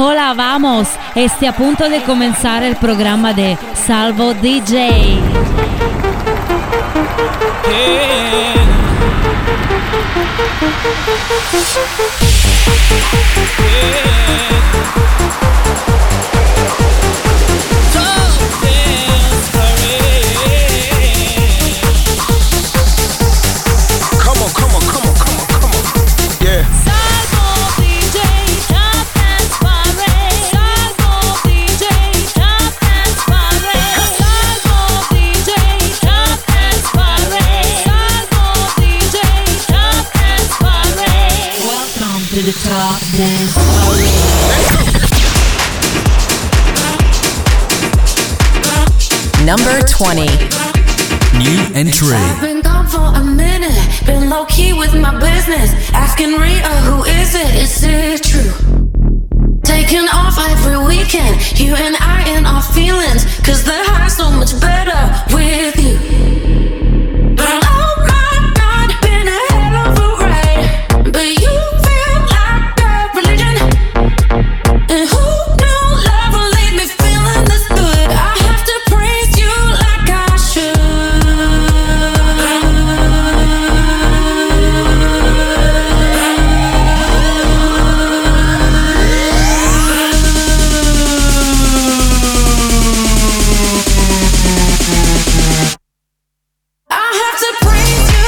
Hola, vamos. A punto de comenzar el programa de Salvo DJ. Top Dance Parade. Number 20. New entry. I've been gone for a minute, been low key with my business. Asking Rhea, who is it? Is it true? Taking off every weekend, you and I in our feelings. Cause the high's so much better with you. Oh my God, been a hell of a ride. But you and who knew love will leave me feeling this good? I have to praise you like I should. I have to praise you.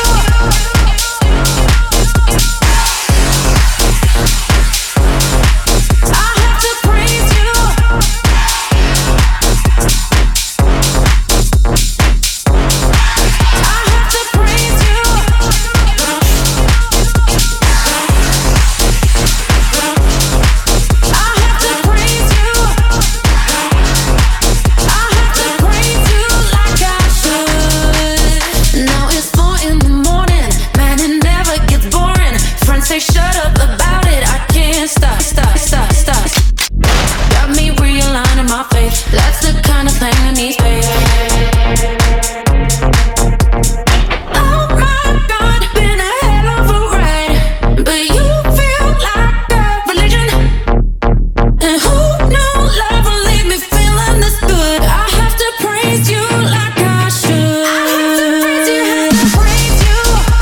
Shut up about it, I can't stop. Got me realigning my faith. That's the kind of thing I need. Oh my God, been a hell of a ride. But you feel like a religion. And who knew love will leave me feeling this good? I have to praise you like I should. I have to praise you, have to praise you.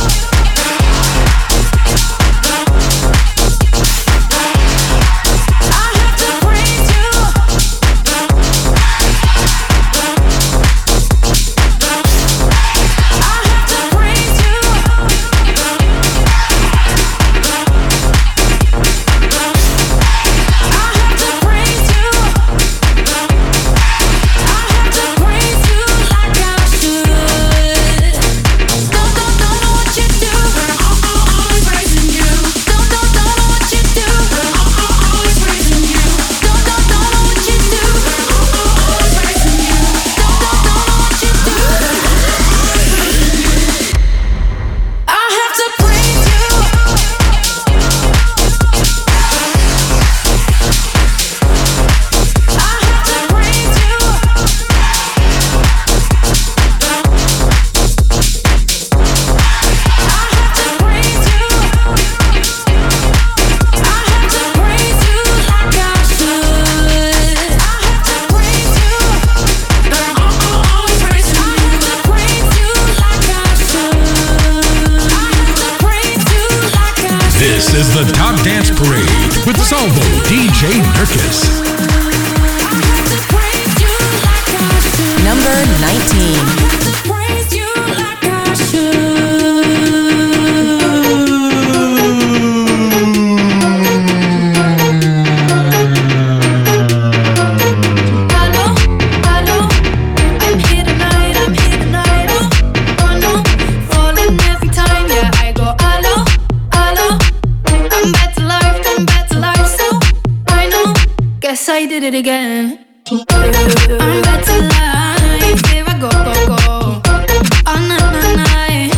This is the Top Dance Parade with Salvo DJ Nurkis. Number 19. I did it again. I'm better life. Here I go. All night.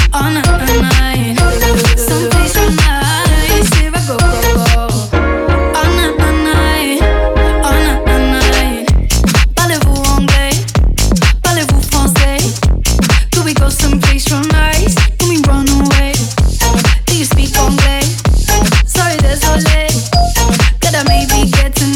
Some place from nice. Here I go. All night. Parlez-vous anglais? Parlez-vous français? Could we go someplace from nice? Can we run away? Do you speak anglais? Sorry, désolé. Could I maybe get to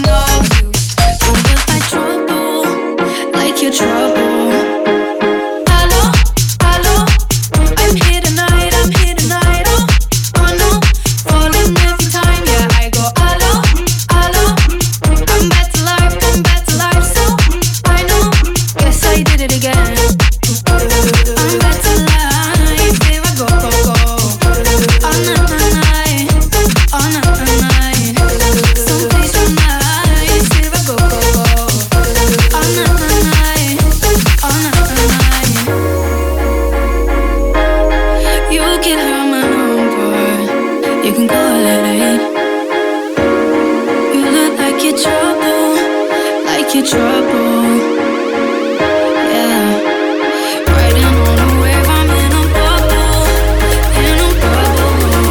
like you're trouble. Yeah, riding on a wave, I'm in a bubble, in a bubble.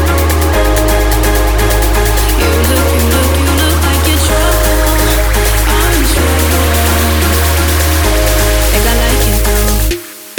You look like you're trouble. I'm in trouble. Think I like it though.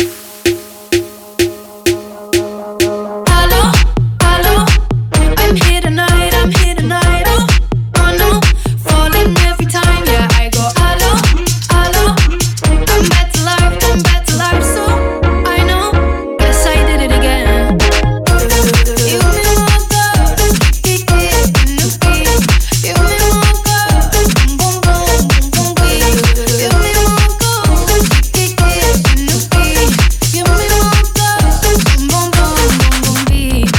Hello, hello, I'm here tonight, oh, oh no, falling every time, yeah, I go hello, hello, I'm back to life, so I know, yes I did it again. You me walk up, kick it in the beat. You me walk up, boom boom boom boom beat. You me walk up, kick it in the beat. You me walk up, boom boom boom boom beat.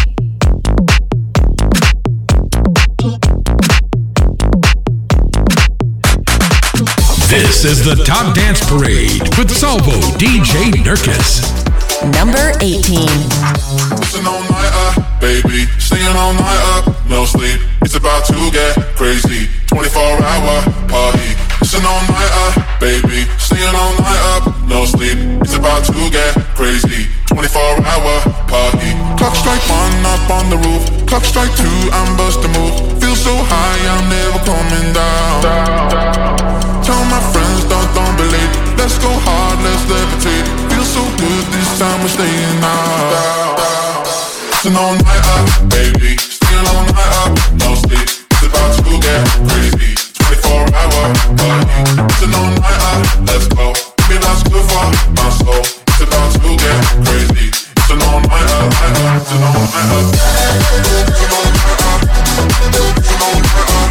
This is the Top Dance Parade with Salvo DJ Nurkis. Number 18. Listen all night up, baby. Staying all night up, no sleep. It's about to get crazy. 24-hour party. Listen all night up, baby. Staying all night up, no sleep. It's about to get crazy. 24-hour party. Clock strike 1 up on the roof. Clock strike 2, I'm bust a move. Feel so high, I'm never coming down. Tell my friends, don't believe. Let's go hard, let's levitate. Feel so good, this time we're staying out. Listen all night up, baby. Staying all night up, no sleep. It's about to get crazy. 24-hour party. Listen all night up, let's go. Maybe that's good for my soul. It's about to get crazy. Listen all night up, listen all night up. Listen all night up. Listen all night up.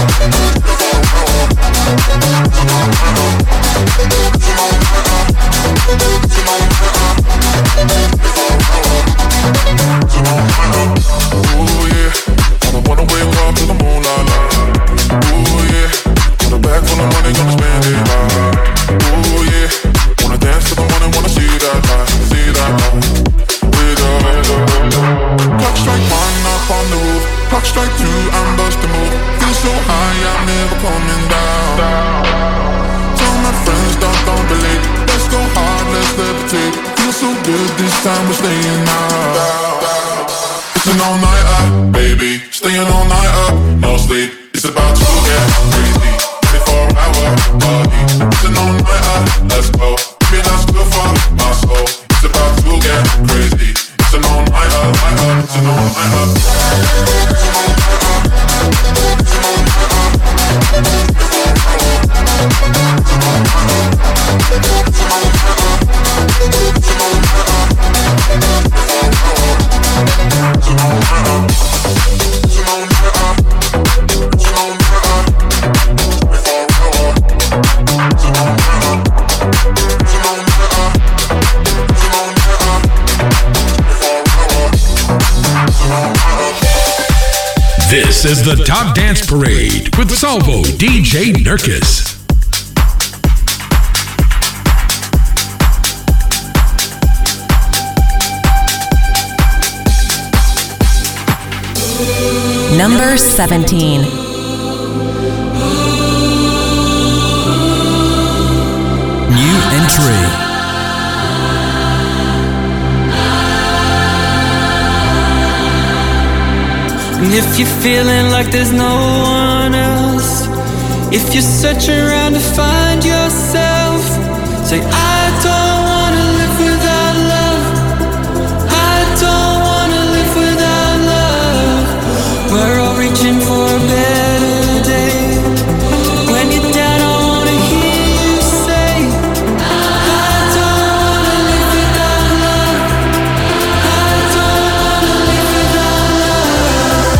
Ooh yeah, I don't wanna wake up to the moonlight. Ooh yeah, got a bag full of money, gonna spend it all. Ooh yeah, wanna dance to the morning, wanna see that light, with her. Clock strike 1 up on the roof. Clock strike 2, I'm busting move. Feel so high, I'm never coming down. Tell my friends, don't believe. Let's go hard, let's levitate. Feel so good, this time we're staying out. Listen all night up, baby. Staying all night up, no sleep. It's about to get crazy. 24-hour party. Listen all night up, let's go. Maybe that's good for my soul. It's about to get crazy. Listen all night up, listen all night up. Listen all night up. Listen all night up. Listen all night up. Listen all night up. Listen all night up. Listen all night up. Listen all night up. Listen all night up. Before hour. Listen all night up. Listen all night up. Listen all night up. Before hour. Listen all night up. This is the Top Dance Parade with Salvo DJ Nurkis. Number 17. New entry. And if you're feeling like there's no one else, if you're searching around to find yourself, say I don't wanna live without love. I don't wanna live without love. We're all reaching for a better day. When you're down, I wanna hear you say I don't wanna live without love. I don't wanna live without love.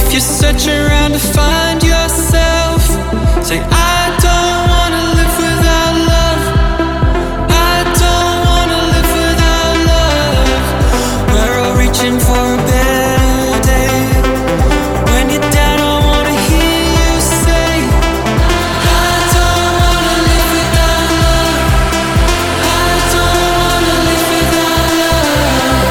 If you're searching around to find yourself, say I don't wanna live without love. I don't wanna live without love. We're all reaching for a better day. When you're down, I wanna hear you say I don't wanna live without love. I don't wanna live without love.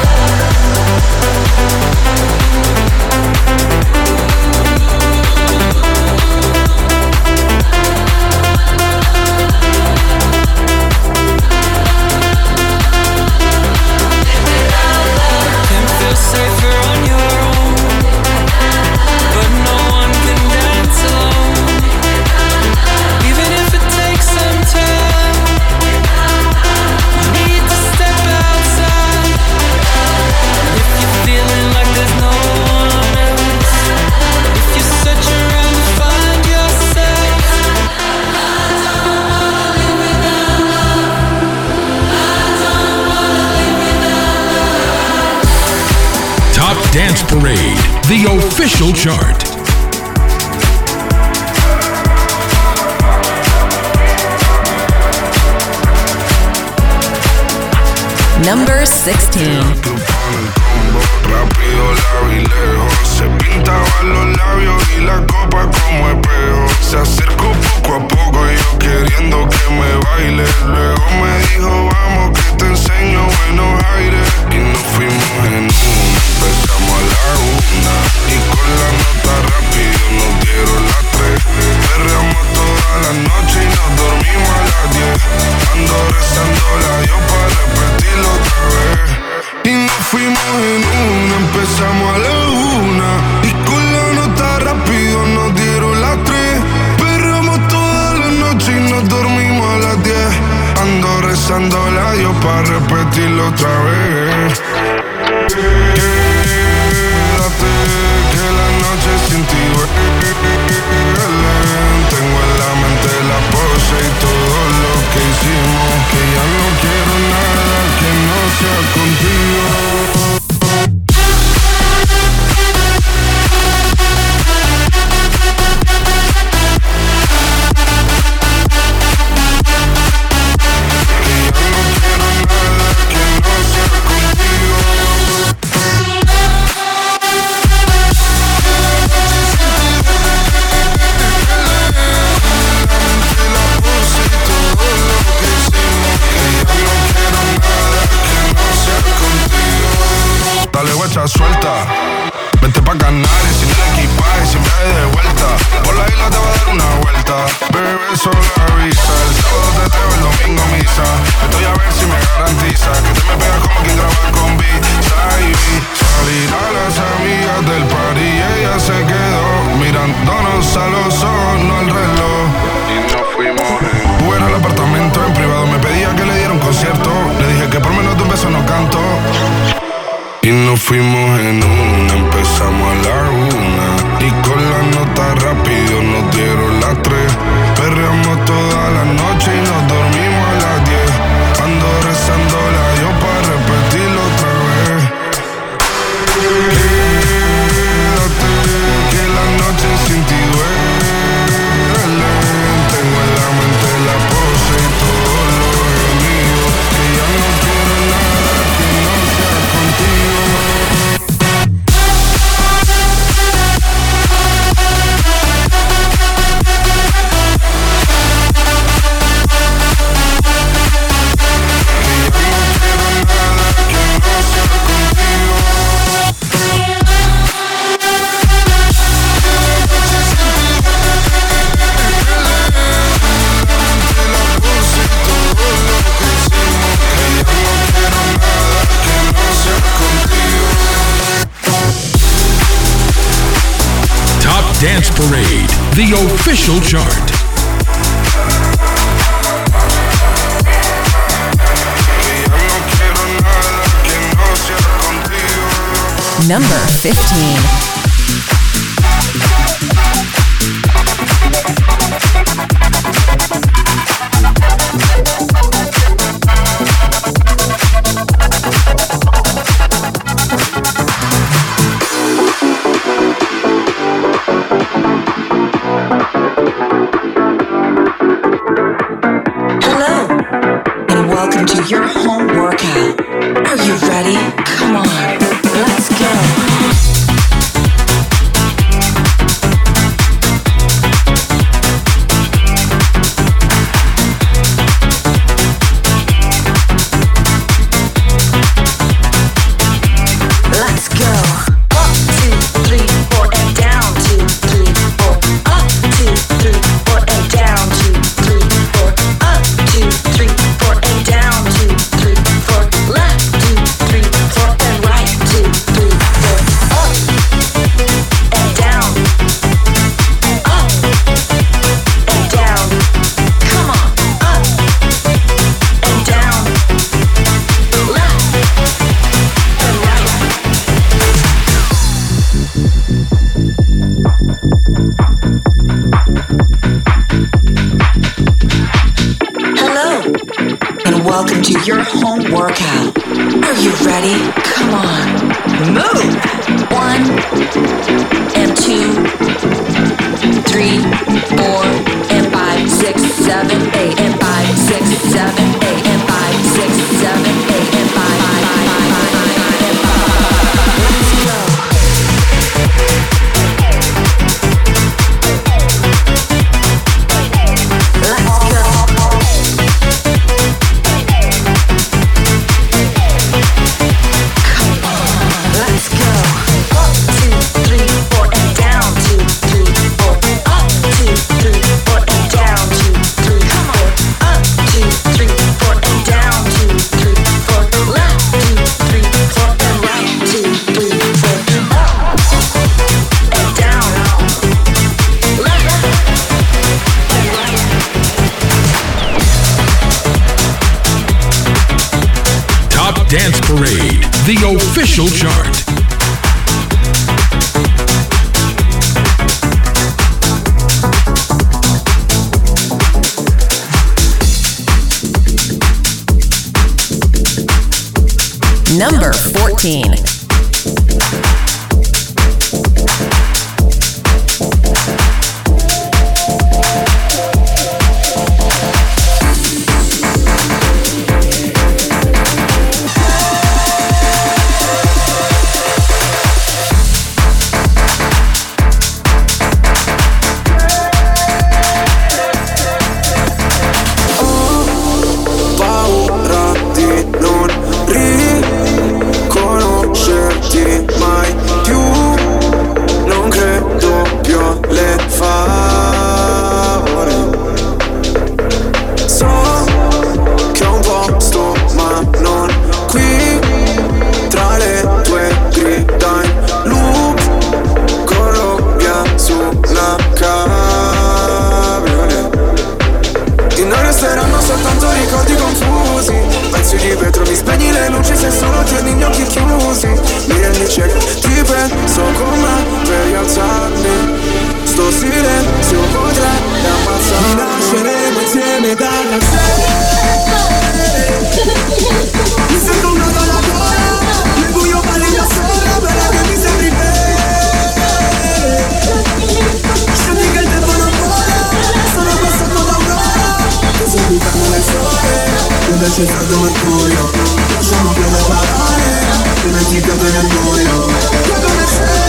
Can't feel safer on your own, but no one can dance alone. Even if it takes some time, you need to step outside. If you're feeling like there's no one else, if you're searching around to find yourself, I don't wanna live without love. I don't wanna live without love. Top Dance Parade, the official chart. Number 16. Rápido, largo y lejos. Se pintaban los labios y la copa como espejo. Se acercó poco a poco y yo queriendo que me baile. Luego me dijo, vamos que te enseño buenos aires. Y nos fuimos en una, empezamos a la 1. Y con la nota rápido nos dieron las 3. Perreamos toda la noche y nos dormimos a las 10. Ando rezando la Dios para repetirlo otra vez. Y nos fuimos en una, empezamos a la 1. Y con la nota rápido nos dieron las 3. Perramos toda la noche y nos dormimos a las 10. Ando rezando a Dios para repetirlo otra vez. Quédate, que la noche sin ti duele. Tengo en la mente la pose y todo lo que hicimos. Que ya no quiero nada que no sea contigo. Suelta, vente pa' Canarias sin el equipaje, sin viaje de vuelta. Por la isla te va a dar una vuelta. Bebé, solo avisa. El sábado te teo, el domingo misa. Estoy a ver si me garantiza que te me pegas como quien graba con Visa y salir a las amigas del party y ella se quedó mirándonos a los ojos, no al reloj. Y nos fuimos fuera al apartamento en privado. Me pedía que le diera un concierto. Le dije que por menos de un beso no canto. Y nos fuimos en una, empezamos a la 1. Y con la nota rápido nos dieron las 3. Perreamos toda la noche y nos dormimos a las 10. Ando rezando la Dios para repetirlo otra vez. Quédate, que la noche sin ti duele. Tengo en la mente la pose y todo lo gemido. Que ya no quiero nada que no sea contigo. Dance Parade, the official chart. Number 15. ready? Come on, let's go. Welcome to your home workout. Are you ready? Come on, move. 1 and 2, 3, 4 and 5, 6, 7, 8 and 5, 6, 7, 8 and 5, 6, 7, 8 and 5, 5 and 5. Let's go. Dance Parade, the official chart. Number 14. C'è stato mercurio, lasciamo più le parole, dimenticate nel buio. Come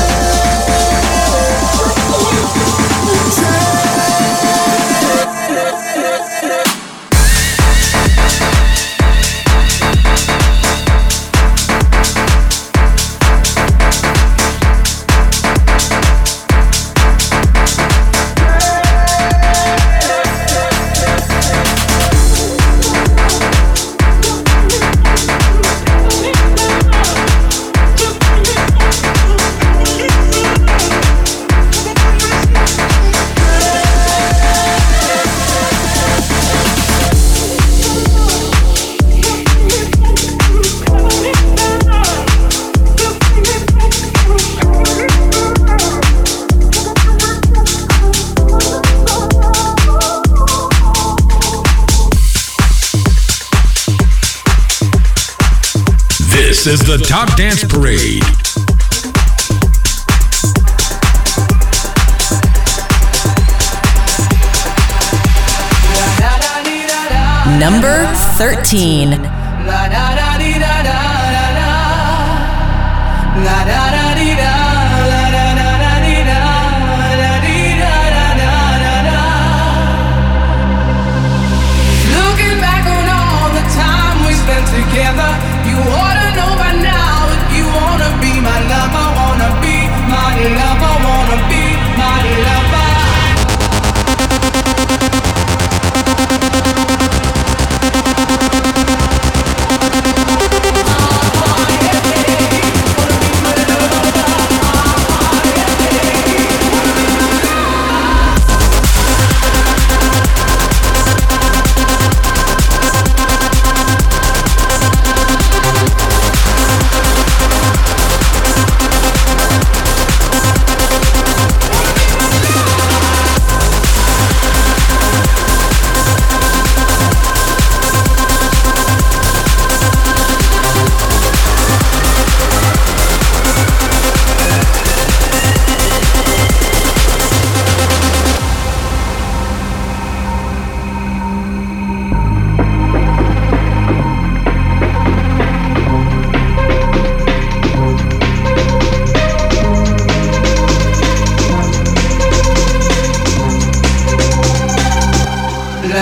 This is the Top Dance Parade. Number 13.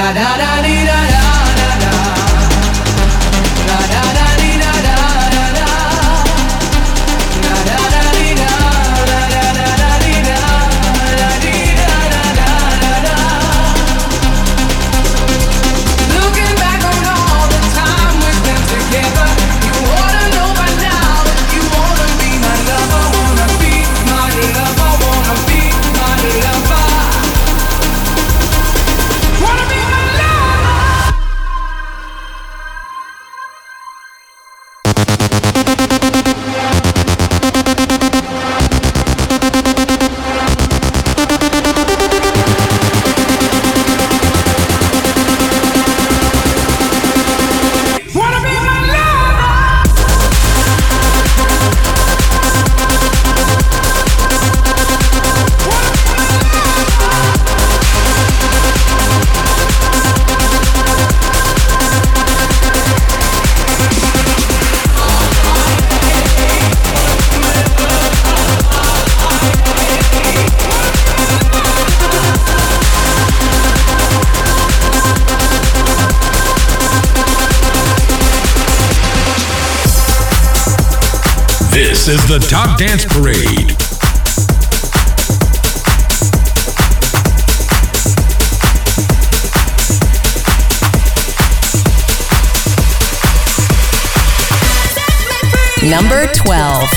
This is the Top Dance Parade. Number 12.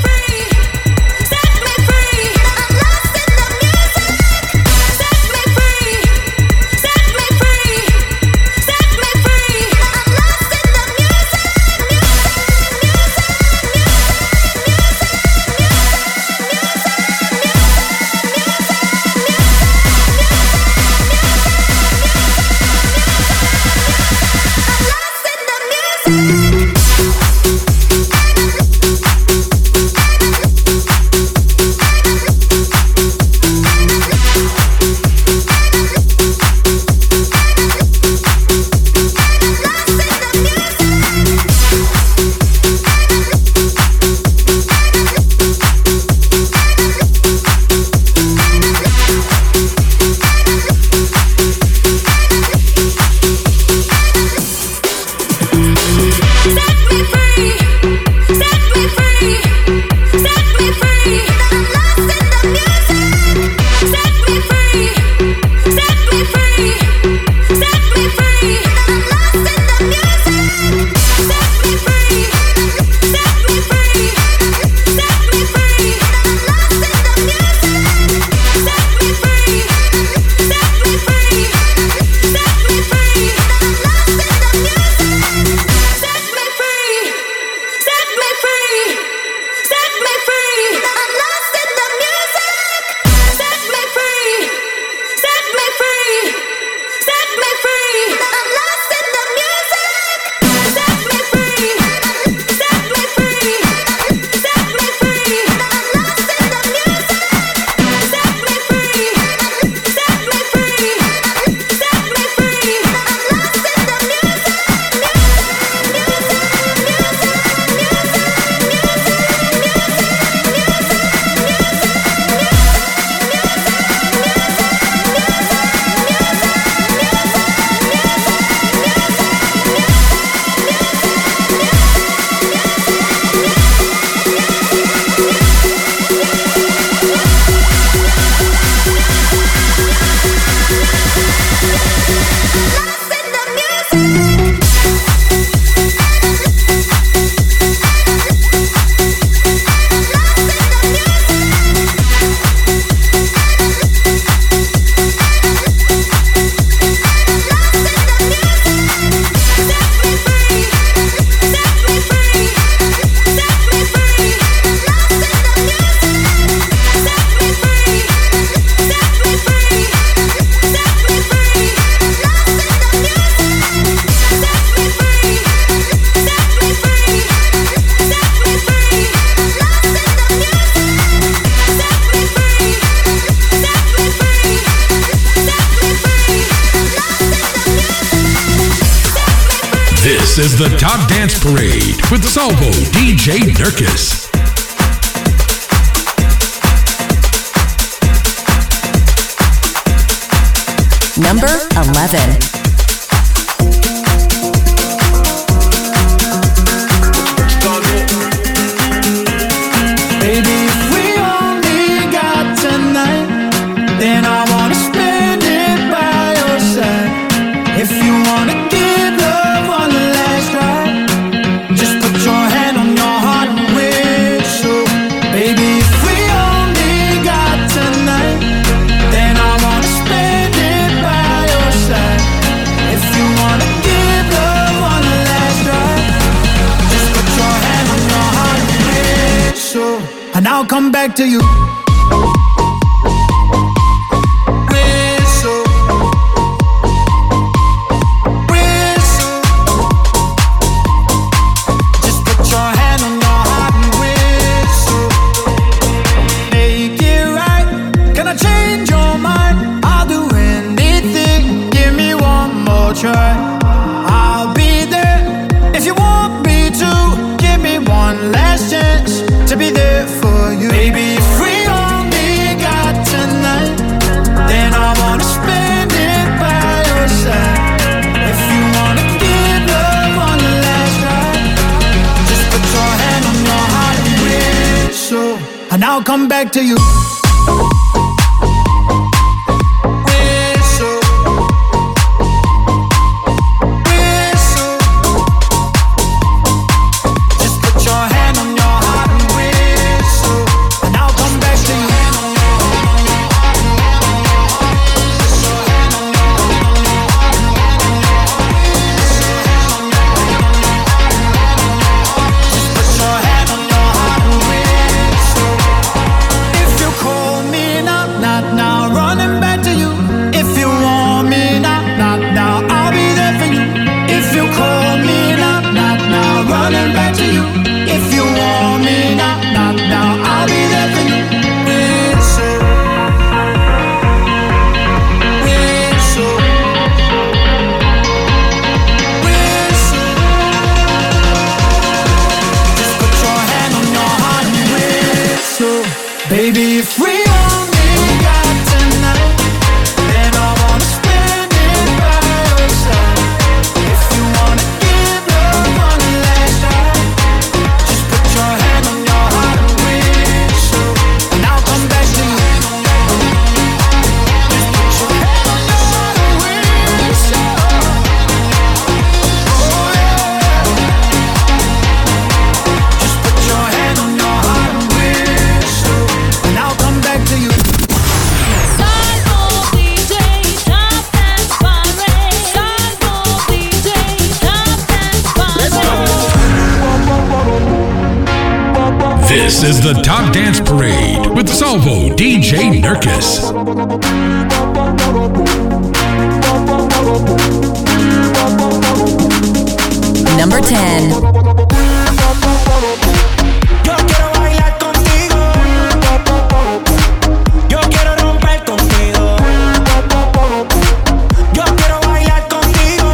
This is the Top Dance Parade with Salvo DJ Nurkis. Number 11. I'll come back to you. I'll be there if you want me to. Give me one last chance to be there for you. Baby, if we only got tonight, then I wanna spend it by your side. If you wanna give love one last try, just put your hand on your heart and whistle, and I'll come back to you. Baby, if we only got tonight, then I wanna spend it by your side. If you wanna give love one last try, just put your hand on your heart and whistle, and I'll come back to you. Just put your hand on your heart and whistle. Oh yeah. Just put your hand on your heart and whistle, and I'll come back to you. Salvo DJ Top Dance Parade. Salvo DJ Top Dance Parade. This is the Top Dance Parade with Salvo DJ Nurkis. Number 10. Yo quiero bailar contigo. Yo quiero romper contigo. Yo quiero bailar contigo.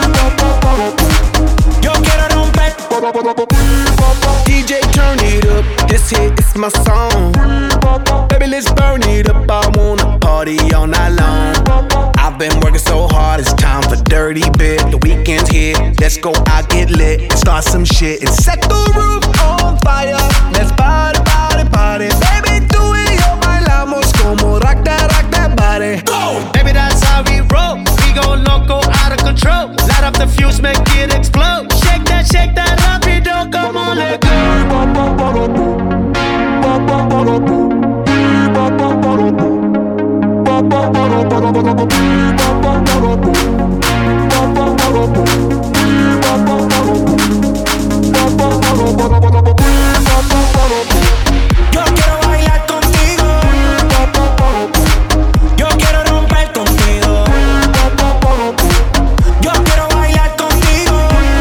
Yo quiero romper. DJ, turn it up. This hit is my song. Baby, let's burn it up. I wanna party all night long. I've been working so hard, it's time for dirty bit. The weekend's here, let's go out, get lit, and start some shit and set the roof on fire. Let's party, party, party. Baby, tú y yo bailamos como rock that body. Go! Baby, that's how we roll. We gon' loco out of control. Light up the fuse, make it explode. Shake that rapido, come on, let go. Yo quiero bailar contigo. Yo quiero romper contigo. Yo quiero bailar contigo.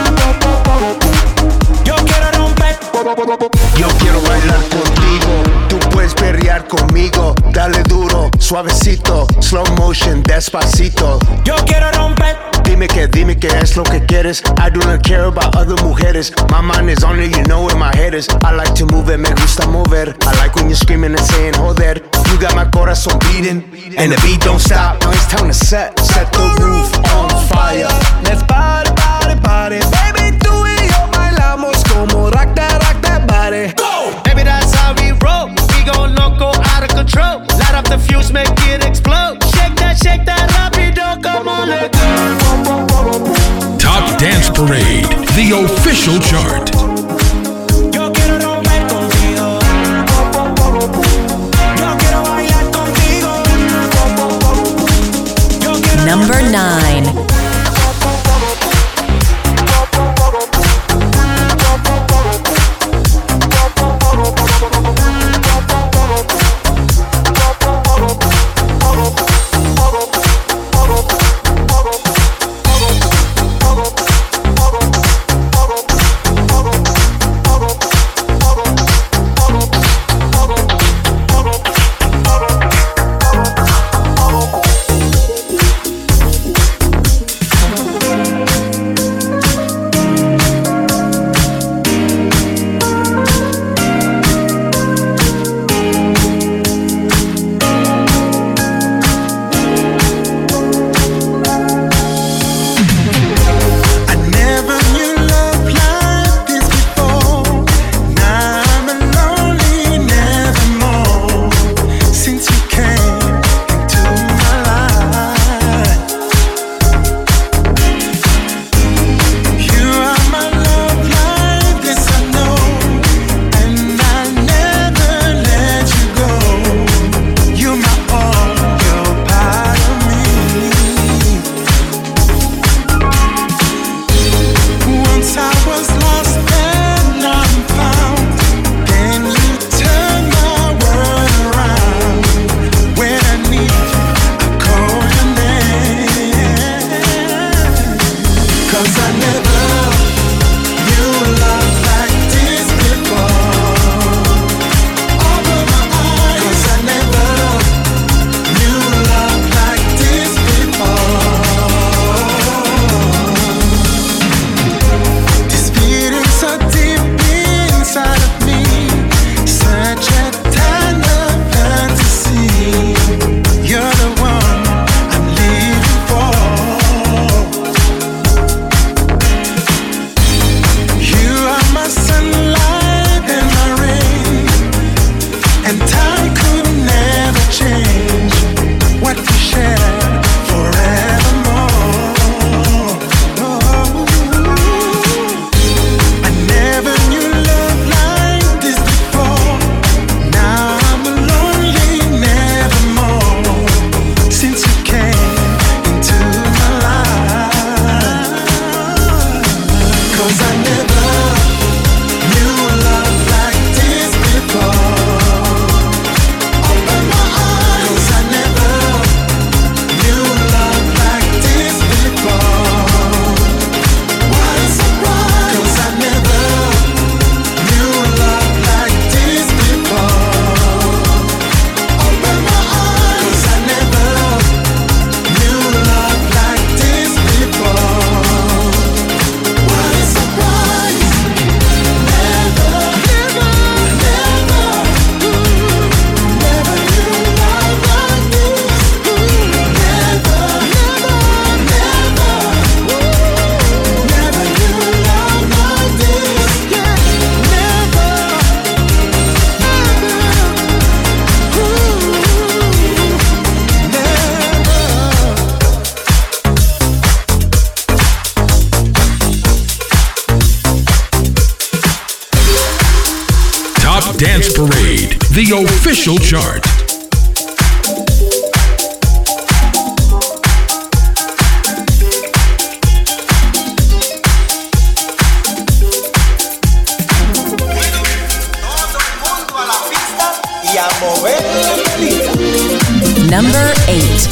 Yo quiero romper. Yo quiero bailar contigo, tú puedes perrear conmigo. Dale duro, suavecito, slow motion, despacito. Yo quiero romper. Dime que es lo que quieres. I do not care about other mujeres. My mind is on it, you know where my head is. I like to move it, me gusta mover. I like when you're screaming and saying, joder. You got my corazón beating, and the beat don't stop. Now it's time to set the roof on fire. Let's party, party, party. Baby, tú y yo bailamos como rock that body. Go! Baby, that's how we roll. We gon' loco out of control. Light up the fuse, make it explode. Shake that rapido, come on, let go. Top Dance Parade, the official chart. Yo quiero romper contigo. Yo quiero bailar contigo. Yo quiero Number 9. the official chart. Number 8.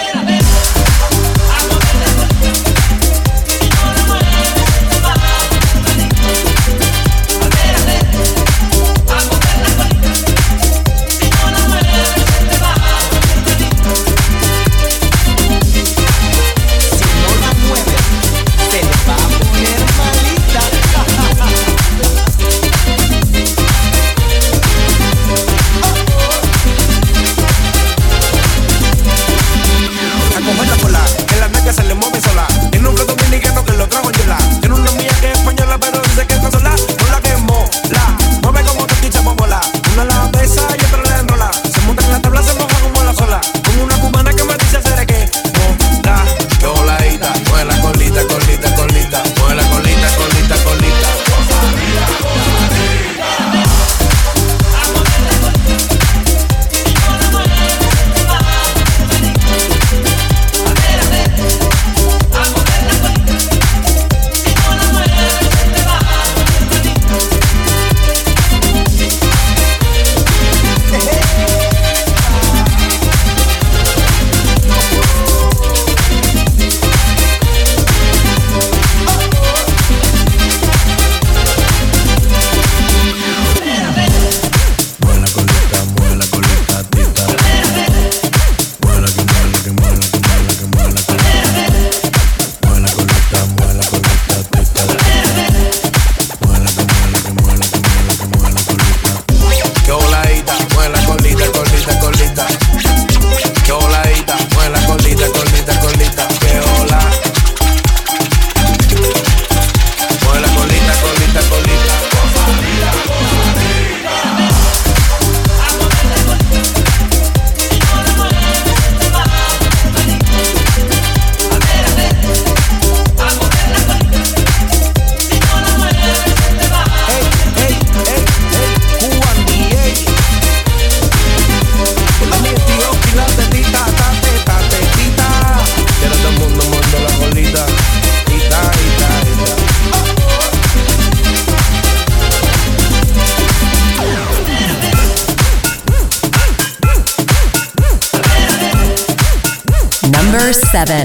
Number 7.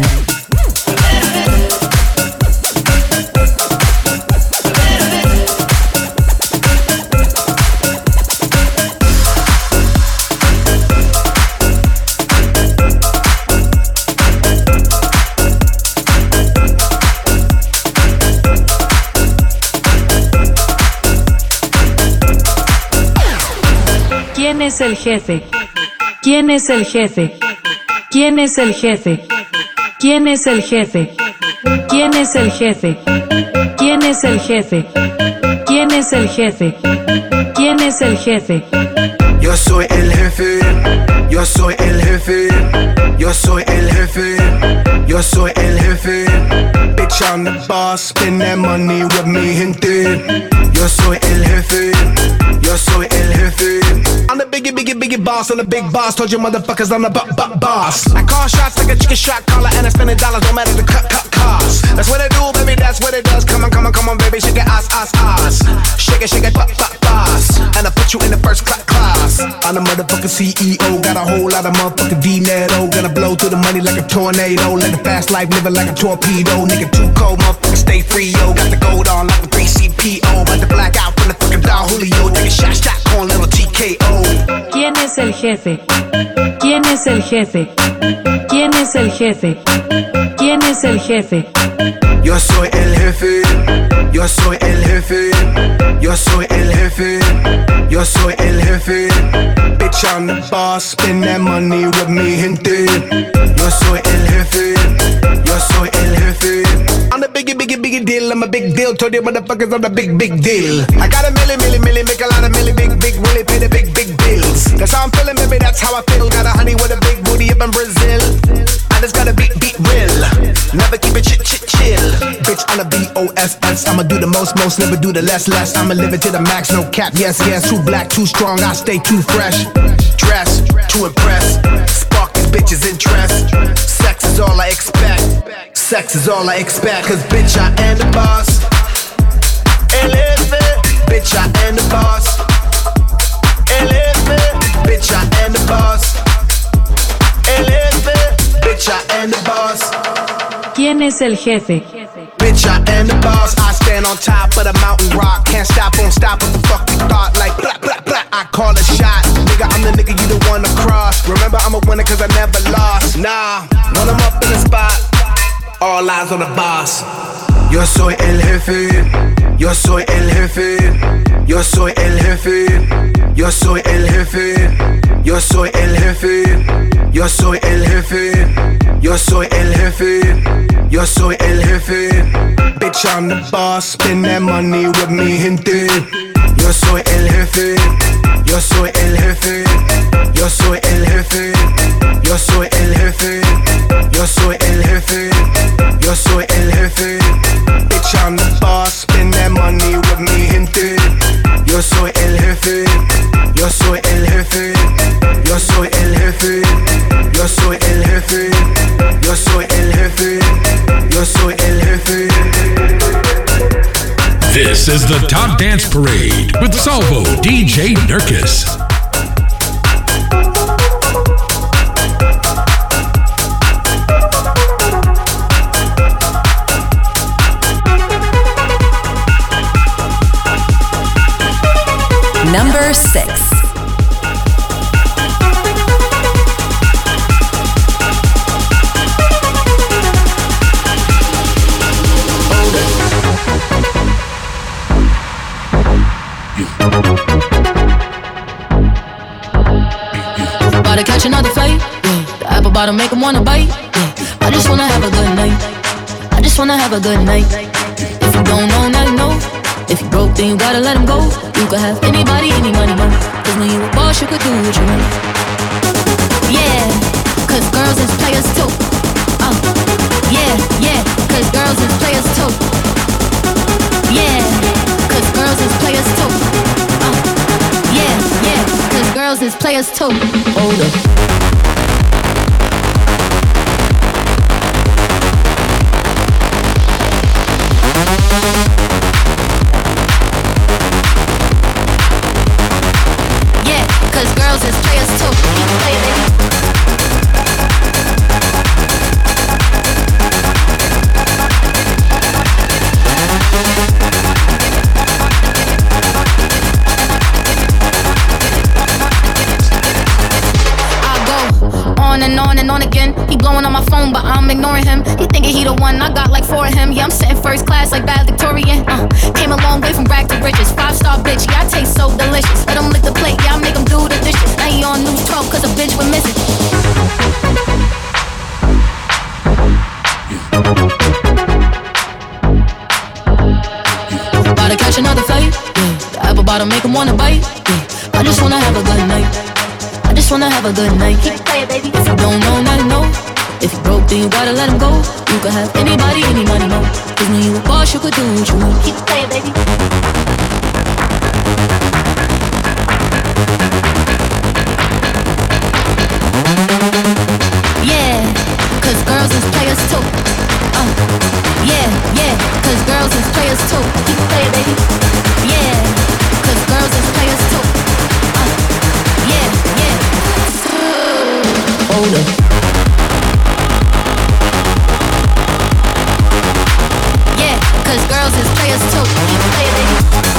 ¿Quién es el jefe? ¿Quién es el jefe? ¿Quién es el jefe? ¿Quién es el jefe? ¿Quién es el jefe? ¿Quién es el jefe? ¿Quién es el jefe? ¿Quién es el jefe? Yo soy el jefe, yo soy el jefe, yo soy el jefe, yo soy el jefe. Bitch, I'm the boss, spend that money with me, gente. Yo soy el jefe, yo soy el jefe. I'm the biggie boss, I'm the big boss. Told you motherfuckers I'm the boss. I call shots like a chicken shot caller, and I spend $1, no matter the cut cost. That's what I do, baby, that's what it does. Come on, baby, shake it, ass. Shake it, boss. And I put you in the first class. I'm the motherfucking CEO, got a whole lot of motherfucking dinero. Gonna blow through the money like a tornado. Like a fast life, living like a torpedo. Nigga too cold, motherfucker stay free, yo. Got the gold on like a 3CPO. About to black out from the fucking Don Julio. Take a shot, corn, little TKO. ¿Quién es el jefe? ¿Quién es el jefe? ¿Quién es el jefe? ¿Quién es el jefe? Yo soy el jefe, yo soy el jefe, yo soy el jefe, yo soy el jefe. Bitch, I'm the boss, spend that money with me, gente. Yo soy el jefe, yo soy el jefe. I'm the biggie deal, I'm a big deal. Told you motherfuckers I'm the big deal. I got a milli, make a lot of milli, big willie, pay the big bills. That's how I'm feeling, baby, that's how I feel. Got a honey with a big booty. booty up in Brazil. I just gotta be real. Never keep it chill. Bitch, on the BOSS. I'ma do the most, never do the less. I'ma live it to the max, no cap. Yes, too black, too strong, I stay too fresh. Dress to impress. Spark these bitches' interest. Sex is all I expect. Sex is all I expect. Cause bitch, I am the boss. Bitch, I am the boss. Bitch, I am the boss. Bitch, I am the boss. ¿Quién es el jefe? Bitch, I am the boss. I stand on top of the mountain rock. Can't stop, won't stop. What the fuck you thought? Like blah, blah, blah. I call a shot. Nigga, I'm the nigga you don't wanna cross. Remember, I'm a winner cause I never lost. Nah, when I'm up in the spot, all eyes on the boss. Yo soy el jefe. Yo soy el jefe. Yo soy el jefe. Yo soy el jefe. Yo soy el jefe. Yo soy el jefe. Yo soy el jefe. Yo soy el jefe. Bitch, I'm the boss. Spend that money with me, gente. Yo soy el jefe. Yo soy el jefe. Yo soy el jefe. Yo soy el jefe. Yo soy el jefe. Yo soy el jefe. Bitch, I'm the boss. Spend that money with me, gente. Yo soy el jefe. Yo soy el jefe. Yo soy el jefe. Yo soy el jefe. Yo soy el jefe. Yo soy el jefe. This is the Top Dance Parade with Salvo DJ Nurkis. Number 6. About to catch another flight, yeah. The apple bottom make 'em wanna bite, yeah. I just wanna have a good night. I just wanna have a good night. If you don't know, now you know. If you broke, then you gotta let him go. You could have anybody, any money, man. Cause when you a boss, you could do what you want. Yeah, cause girls is players too. Yeah, cause girls is players too. Yeah, cause girls is players too. Yeah, cause girls is players too. Hold up. Cause girls is players too. Play it, baby. And on again. He blowing on my phone, but I'm ignoring him. He thinking he the one, I got like 4 of him. Yeah, I'm sitting first class like bad Victorian. Came a long way from rag to riches. 5-star bitch, yeah, I taste so delicious. Let him lick the plate, yeah, I make him do the dishes. Now he on news 12 cause a bitch went missing. About to catch another flight, yeah. The apple bottom make him wanna bite, yeah. I just wanna have a good night. I just wanna have a good night. Keep playing, baby. If you don't know, now you know. If you broke, then you gotta let him go. You could have anybody, any money, no. Cause when you a boss, you could do what you want. Keep playing, baby. Yeah, cause girls is players too. Yeah, cause girls is players too. Keep playing, baby. Yeah, cause girls is players too. Yeah. Hold up. Yeah, cause girls is players too. Keep playing, baby.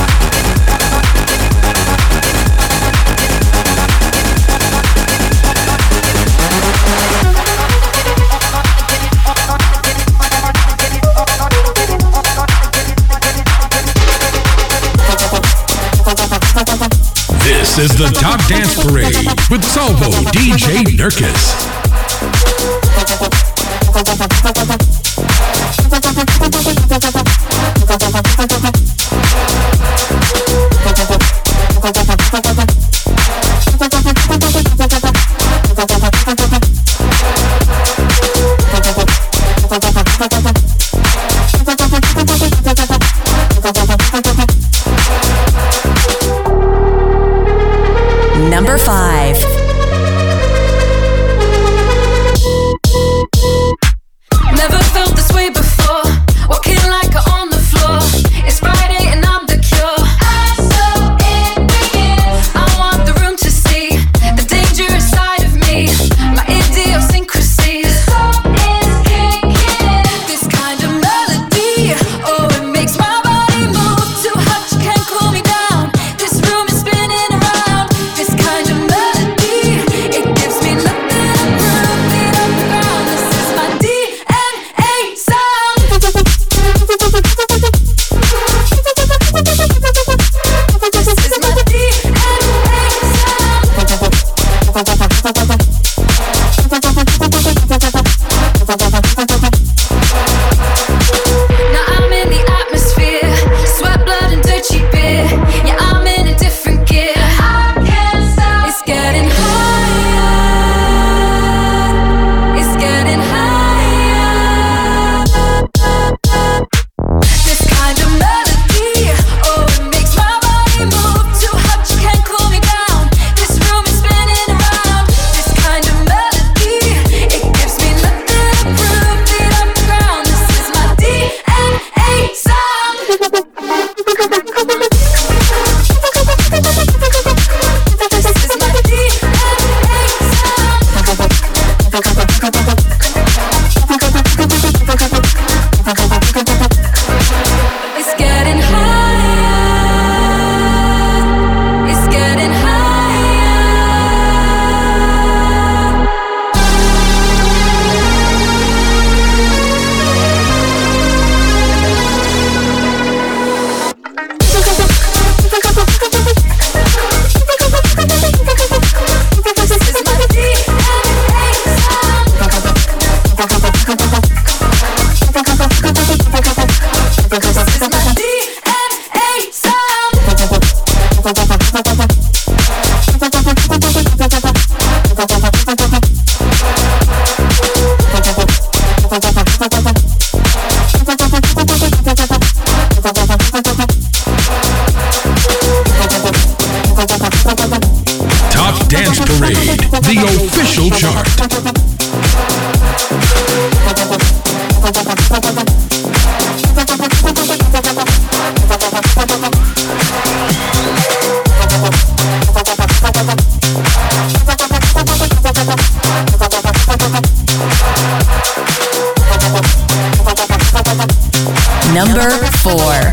This is the Top Dance Parade with Salvo DJ Nurkis. official chart. Number 4.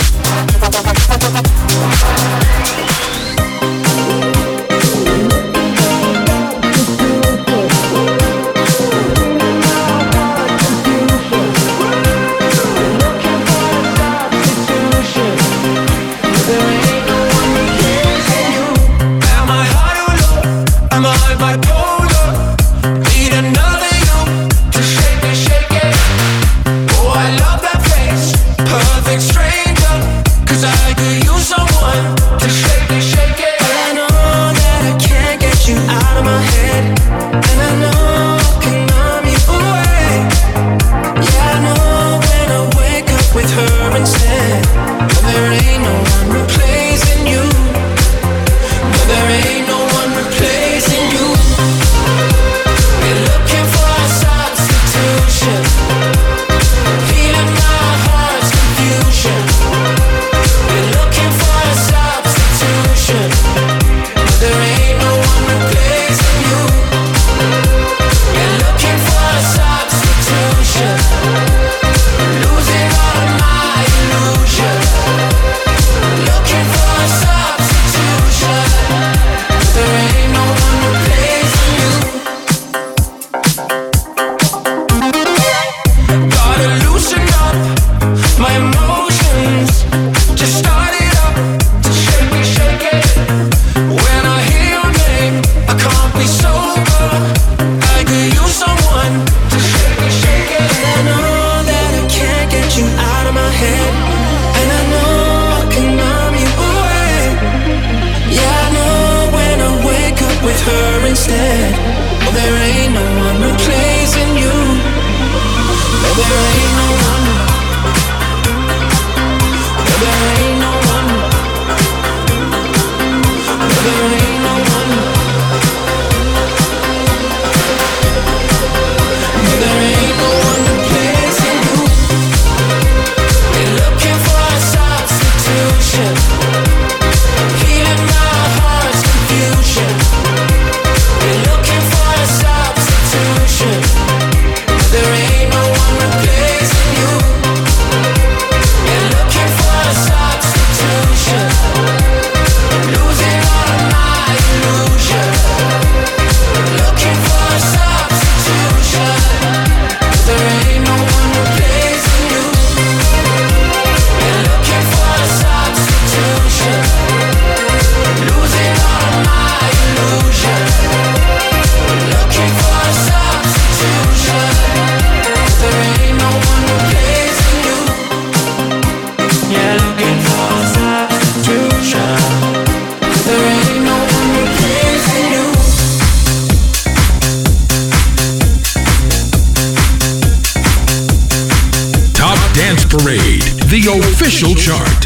Parade, the official chart.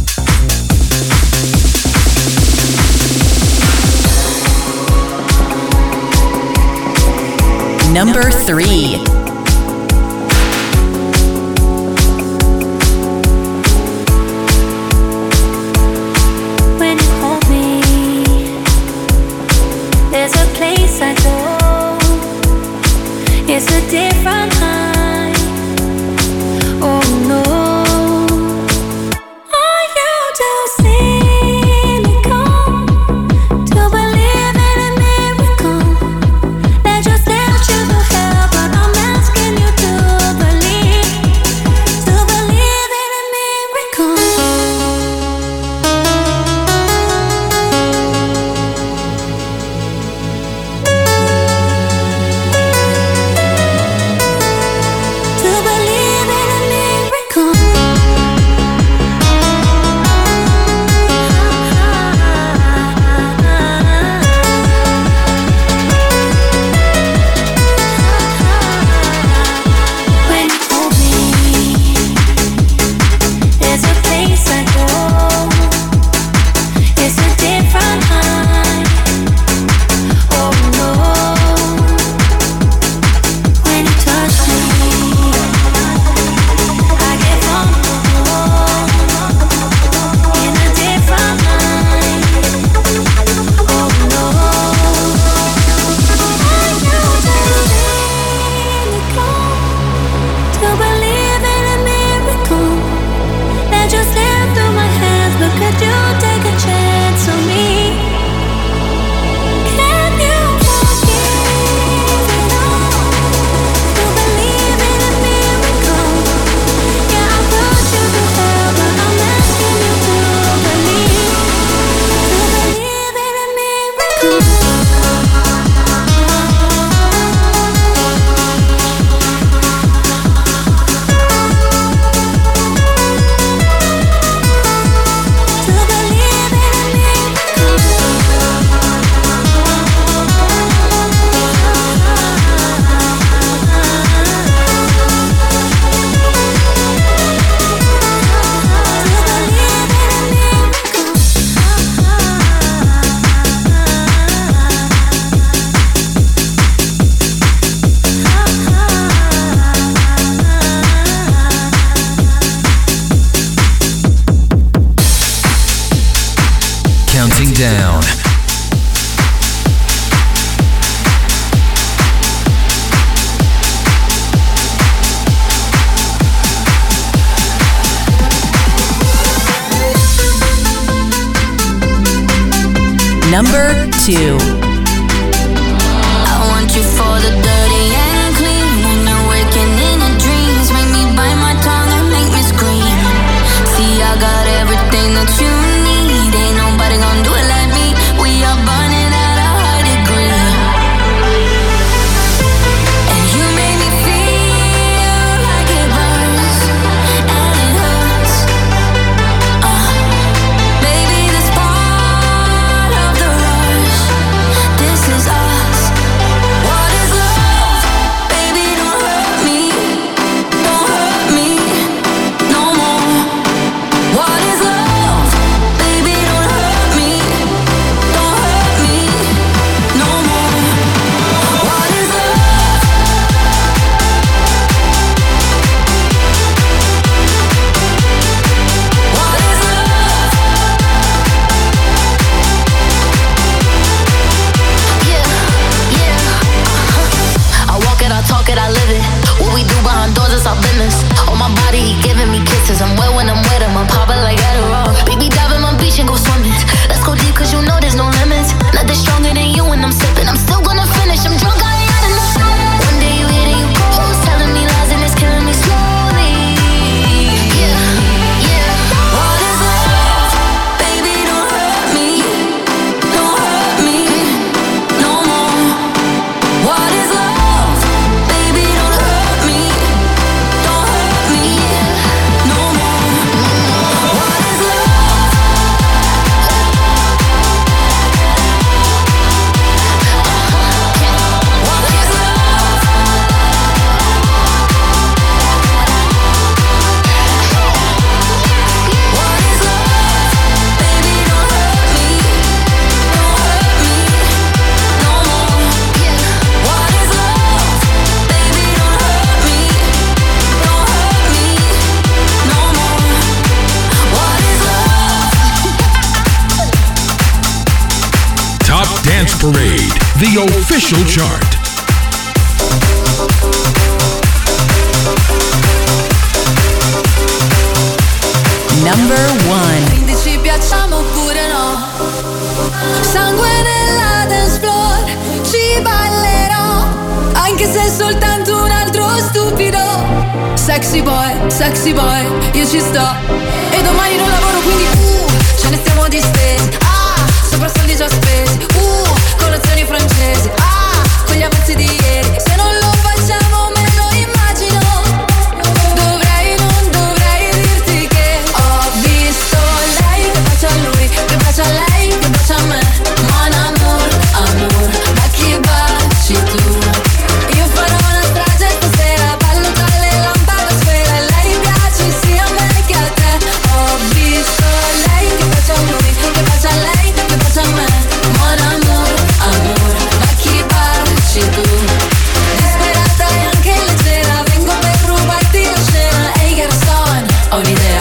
Number 3. When you hold me, there's a place I go. It's a different high. Oh no. Are you too cynical to believe in a miracle? They just left you to hell, but I'm asking you to believe in a miracle. Number 2. I want you for the dirty and clean. When you're waking in your dreams, make me bite my tongue and make me scream. See, I got everything that you need. Ain't nobody gonna do it like me. We are burning at a high degree. And you make me feel like it burns and it hurts. Baby, this part of the rush. This is us. What is love? Baby, don't hurt me. Don't hurt me no more. What is love? Baby, don't hurt me. Don't hurt me no more. What is love? What is love? Yeah. I walk it, I talk it, I live it. What we do behind doors is our business. On my body, he giving me kisses. I'm wet when I'm wet, I'm popping like Adderall. Baby, dive in my beach and go swimming. Let's go deep, cause you know there's no limits. Nothing stronger than you when I'm sipping. I'm still gonna finish, I'm drunk, I ain't had enough. One day you hit and you close, telling me lies and it's killing me slowly. Yeah, yeah. What is love? Baby, don't hurt me. Don't hurt me no more. What is love? Baby, don't hurt me. Don't hurt me no more. What is love? What is love? What is love? Baby, don't hurt me. Don't hurt me no more. What is love? Baby, don't hurt me. Don't hurt me no more. What is love? Top Dance Parade, the official chart. Number 1. Quindi ci piacciamo oppure no? Sangue nella dance floor, ci ballerò, anche se è soltanto un altro stupido. Sexy boy, io ci sto. E domani non lavoro quindi ce ne stiamo distesi. Sopra soldi già spesi. Colazioni francesi. Con gli avanzi di ieri. Se non lo facciamo me lo immagino. Non dovrei dirti che ho visto lei che bacia a lui, che bacia a lei, che bacia a me. Mon amour, amour, ma chi baci tu? Io farò una strage stasera, ballo tra le lampade a sfera. Lei piace sia a me che a te. Ho visto lei che bacia a lui, che bacia a lei, che bacia a me. Mon amour, amour, ma chi baci tu? Disperata e anche leggera, vengo per rubarti la scena. Ehi garçon, ho un'idea.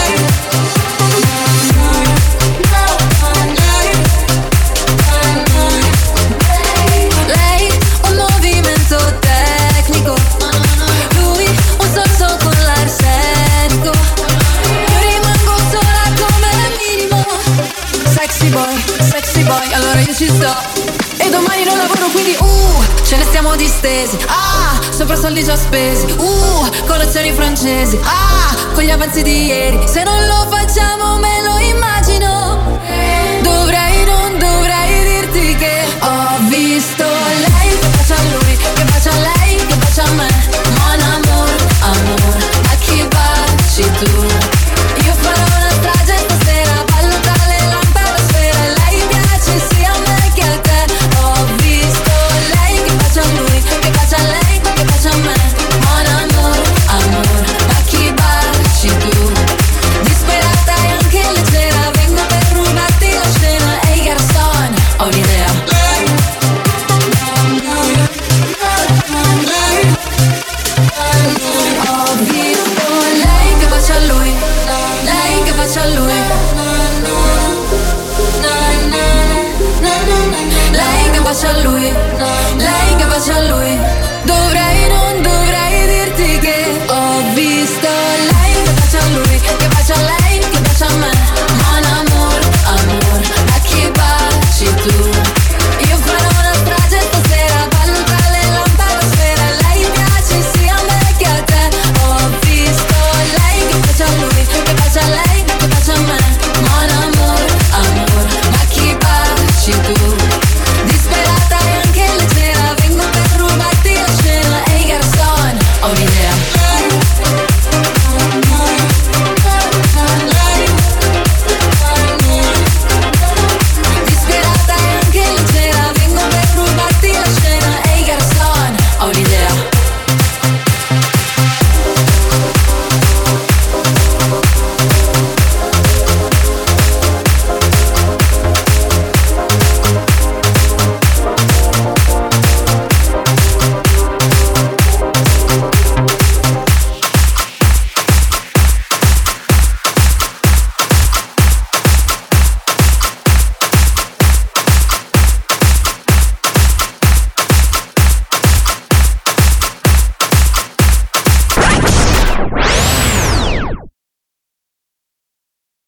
Lei un movimento tecnico, lui un sorso con l'arsenico. Io rimango sola come minimo. Sexy boy, allora io ci sto. E domani non lavoro quindi ce ne stiamo distesi. Sopra soldi già spesi. Colazioni francesi. Con gli avanzi di ieri. Se non lo facciamo me lo